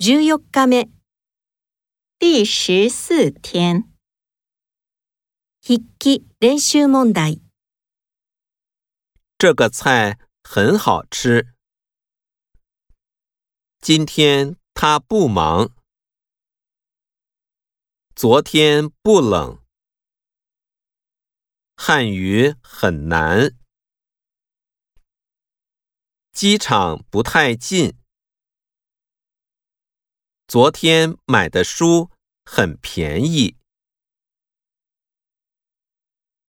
14日目、 第14天。 筆記練習問題。 这个菜很好吃。今天他不忙。昨天不冷。汉语很难。机场不太近。昨天买的书很便宜。